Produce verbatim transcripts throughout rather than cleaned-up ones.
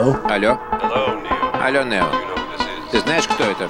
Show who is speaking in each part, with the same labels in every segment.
Speaker 1: Алло?
Speaker 2: Алло? Алло, Нео. Ты знаешь, кто это?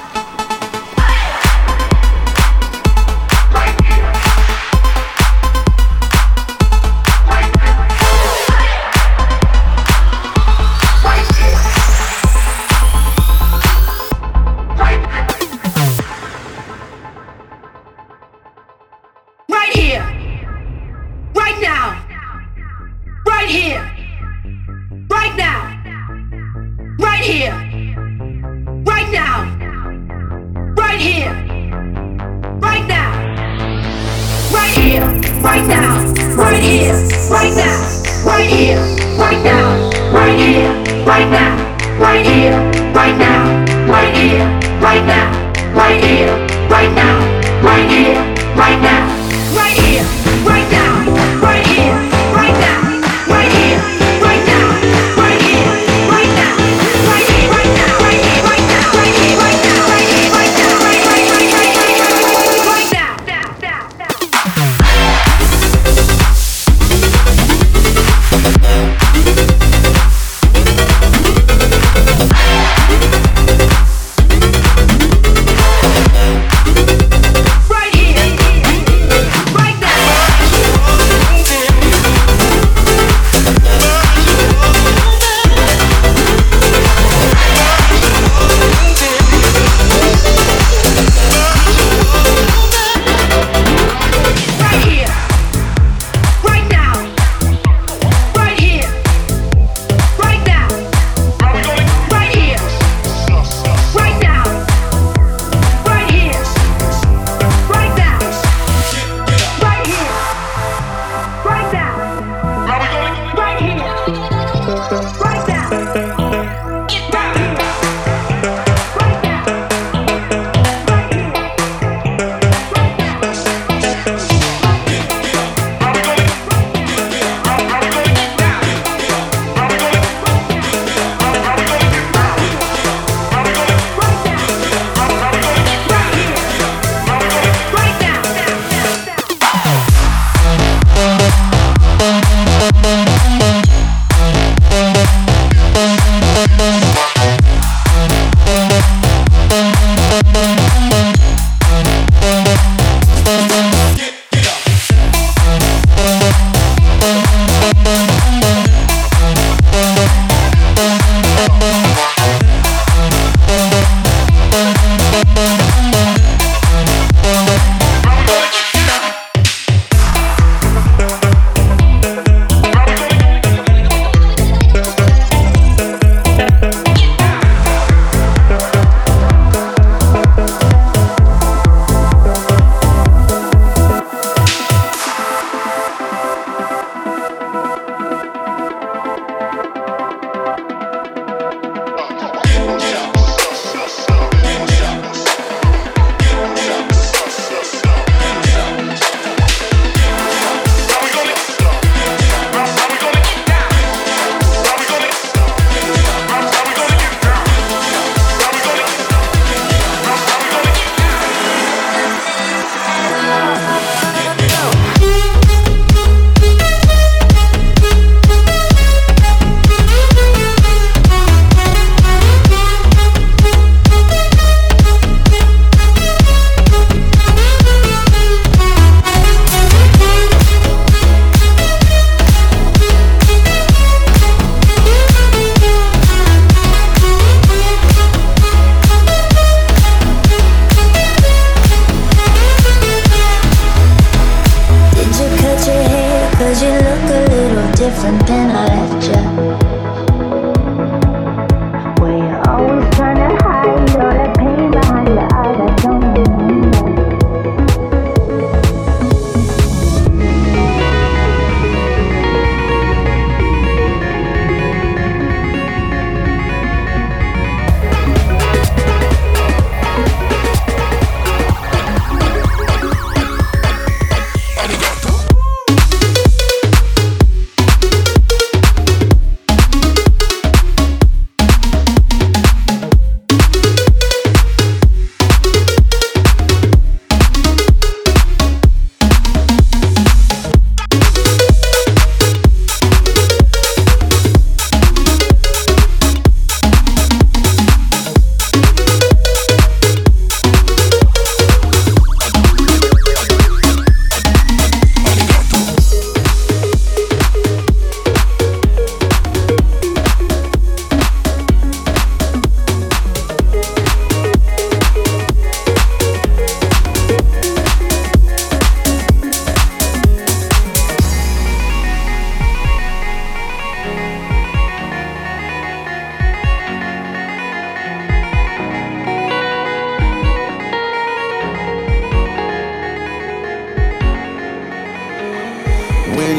Speaker 3: Right here, right now, right here, right now, right here, right now, right here, right now, right here, right now, right here, right now, right here, right now, right here, right now, right here, right now, right here, right now, right here, right now, right here, right now. Right here, right now, right here, right now, right here, right now, right here, right now, right here, right now, right here, right now, right here, right now, right here, right now, right here, right now, right now, now, now, now. Right here.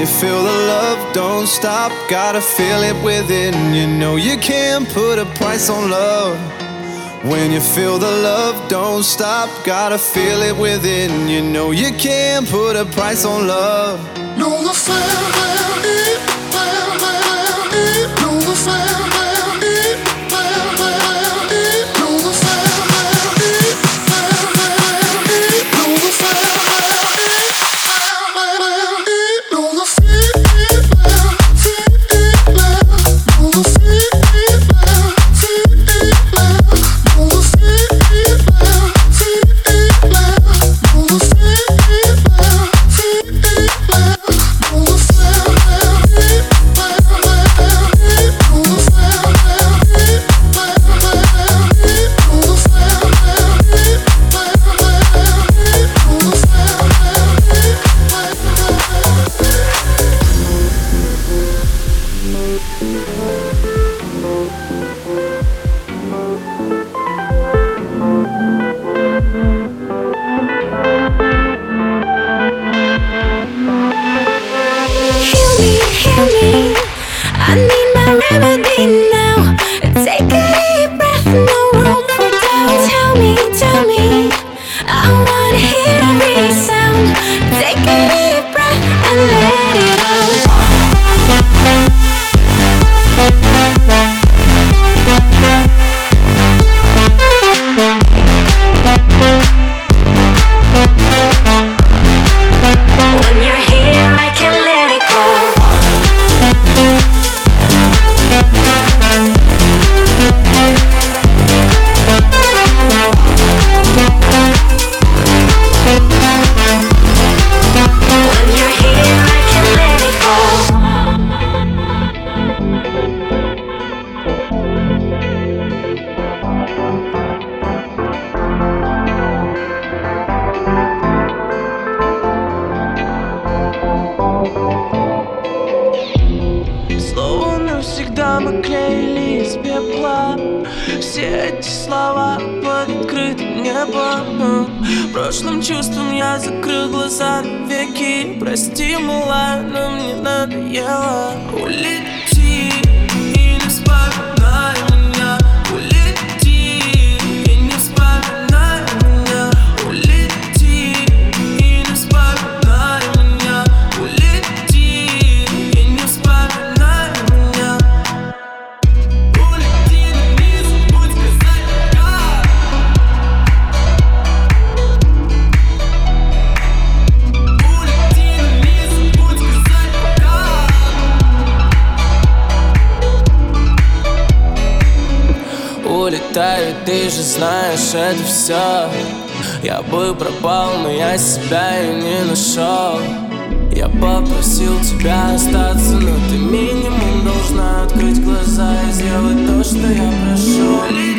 Speaker 1: you feel the love, don't stop, gotta feel it within. You know you can't put a price on love. When you feel the love, don't stop, gotta feel it within. You know you can't put a price on love.
Speaker 4: No affair, no affair.
Speaker 5: Прошлым чувством я закрыл глаза навеки. Прости, малая, но мне надоело. Улети и не вспоминай меня. Улети и не вспоминай меня. Улети и не вспоминай меня. Улети и не вспоминай меня. Улети на низ, будь сказать как. Улетаю, ты же знаешь, это все. Я бы пропал, но я себя и не нашел. Я попросил тебя остаться, но ты минимум должна открыть глаза и сделать то, что я прошу.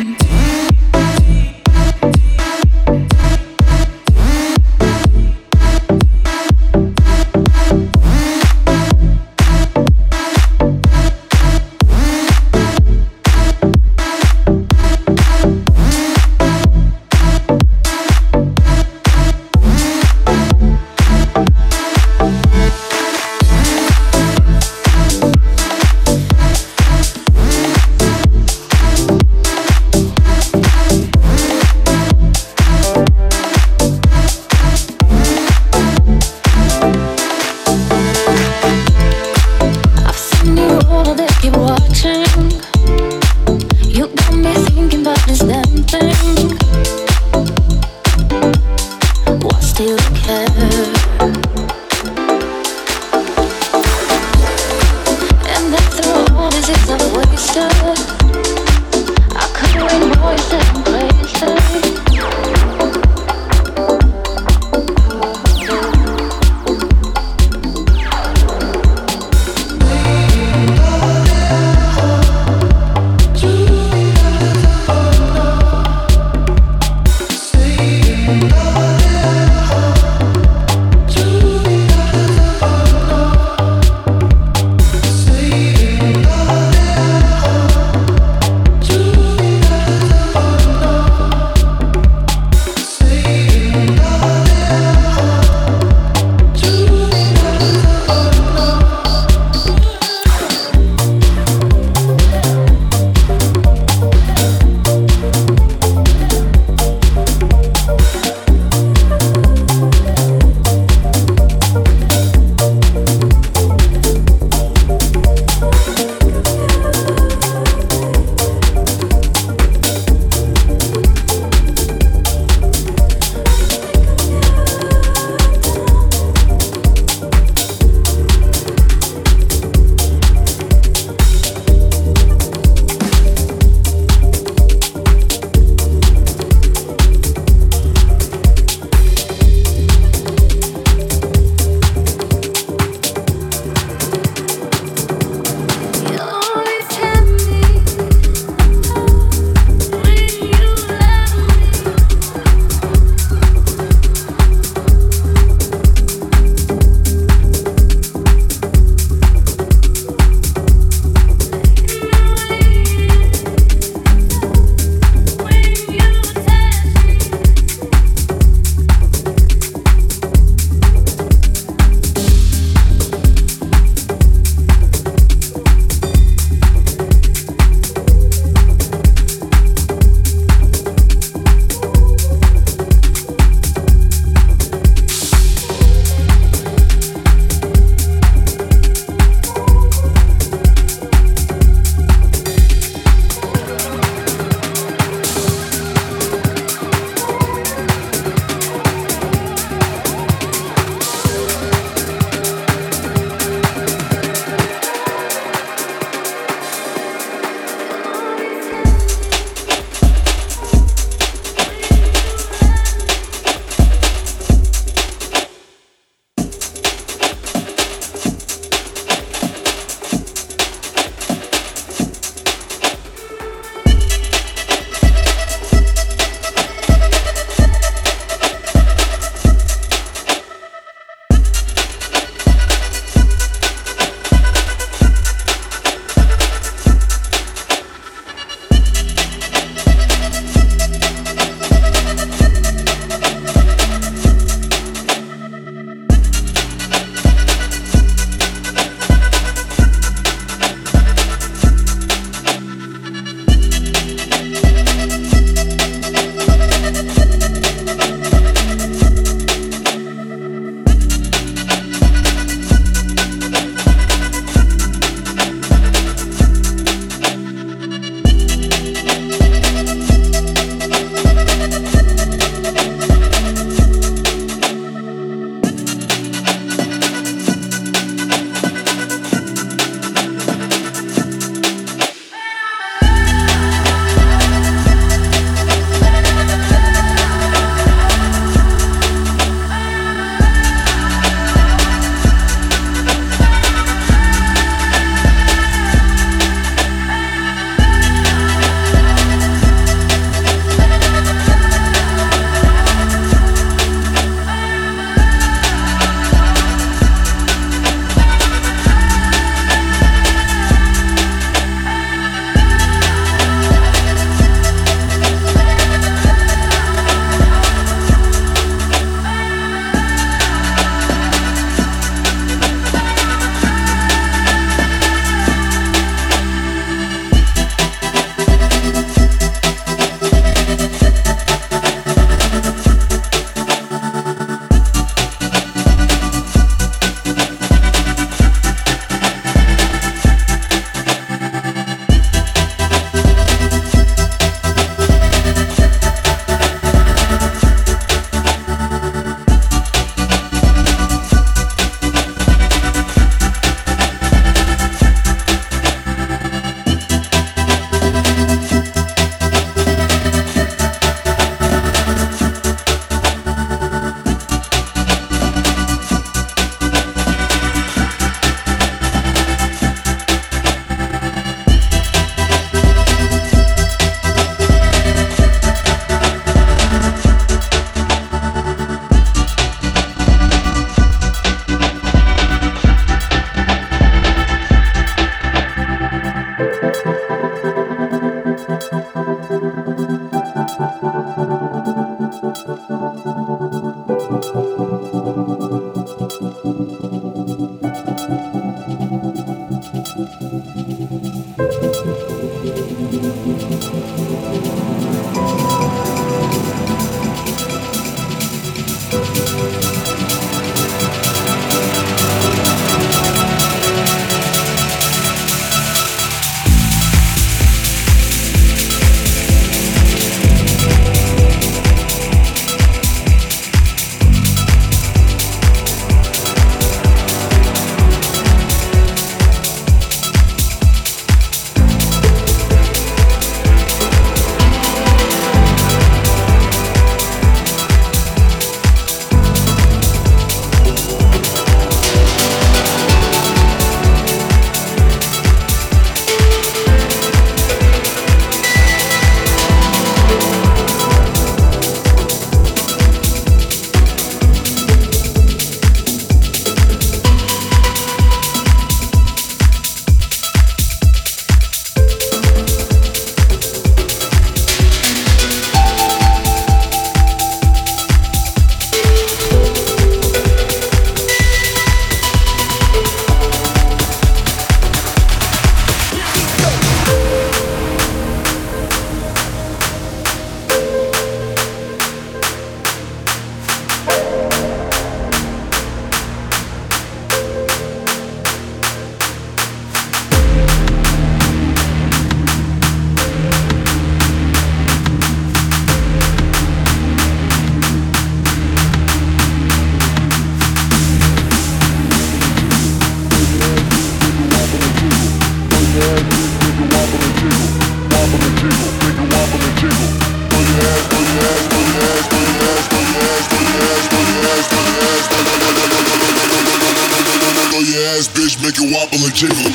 Speaker 4: Make it wobble and jiggle.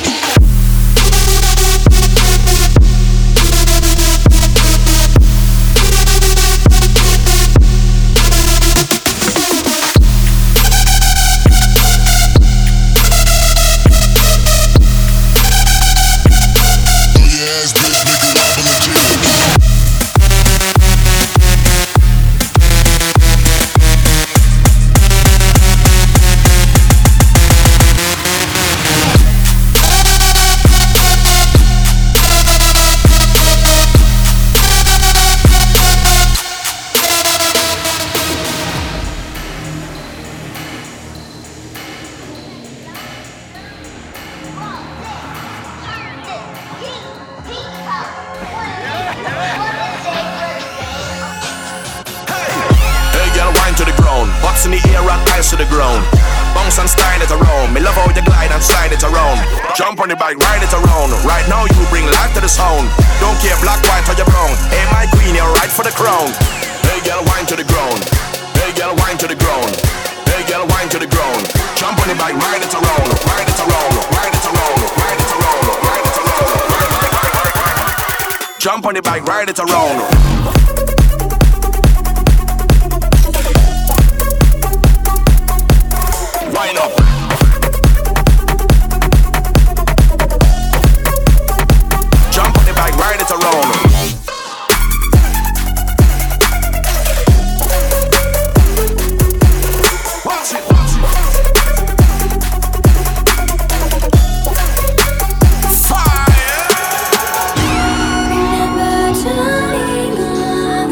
Speaker 6: In the air and ties to the ground. Bounce and style it around. Me love how you glide and slide it around. Jump on the bike, ride it around. Right now you bring life to the sound. Don't care black, white or you brown. Hey my queen, you're right for the crown. Hey girl, wine to the ground. Hey girl, wine to the ground. Hey girl, wine to the ground. Jump on the bike, ride it around. Ride it around. Ride it around. Ride it around. Ride it around. Ride, ride, ride, ride, ride. Jump on the bike, ride it around. Wind up. Jump on the bike, ride it around. Watch it, watch it. Fire.
Speaker 7: Never turning on.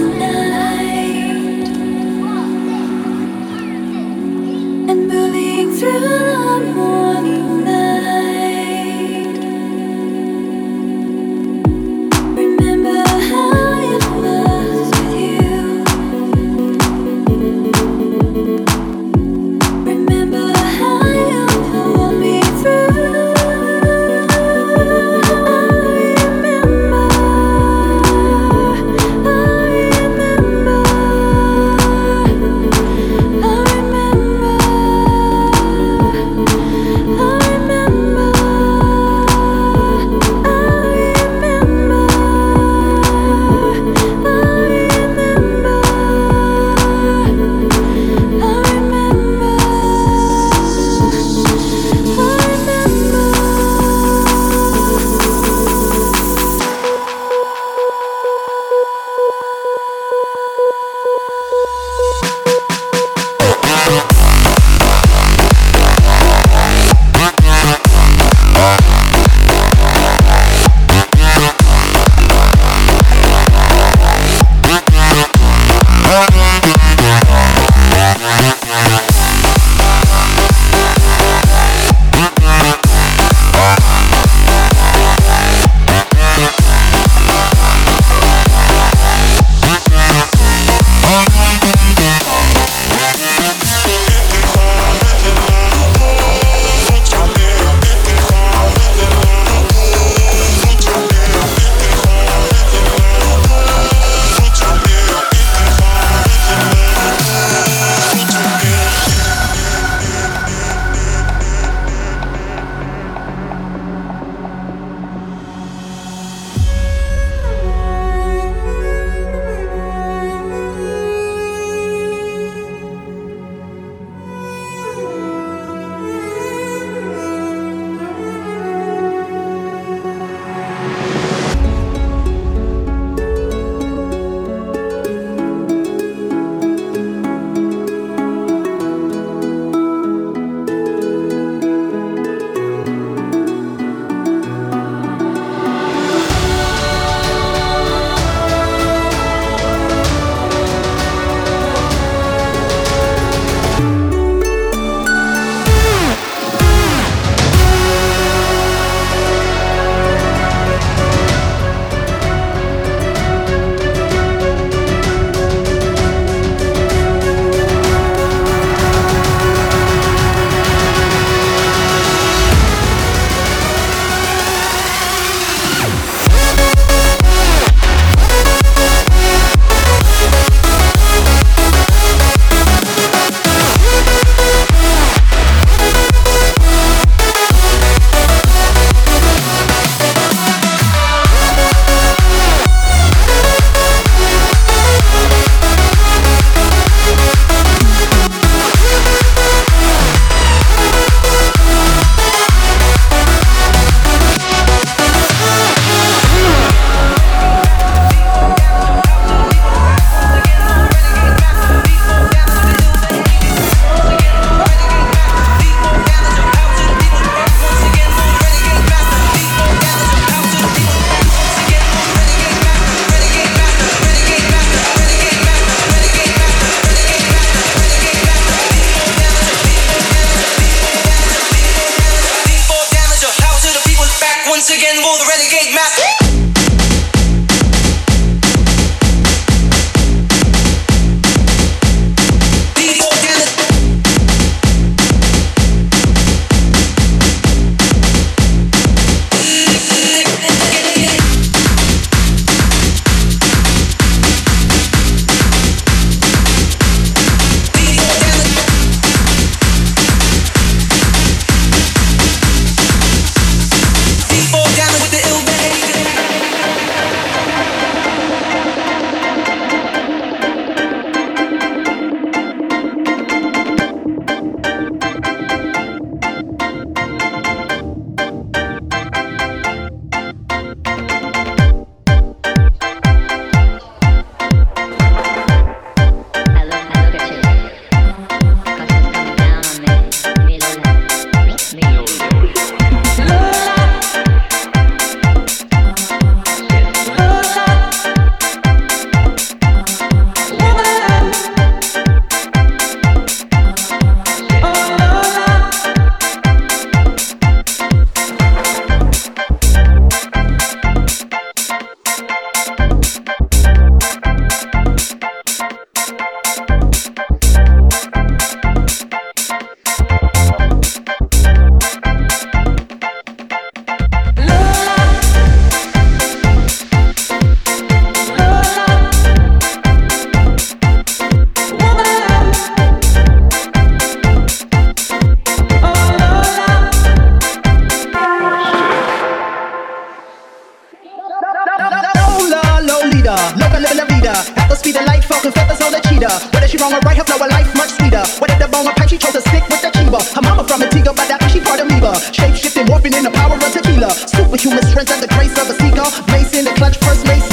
Speaker 7: her flow a life much sweeter. What at the bone of pipe, she chose to stick with the Chiba. Her mama from Antigua, but that she part amoeba. Shape shifting, warping in the power of tequila. Superhuman strength and the grace of a seeker. Mace in the clutch, first mace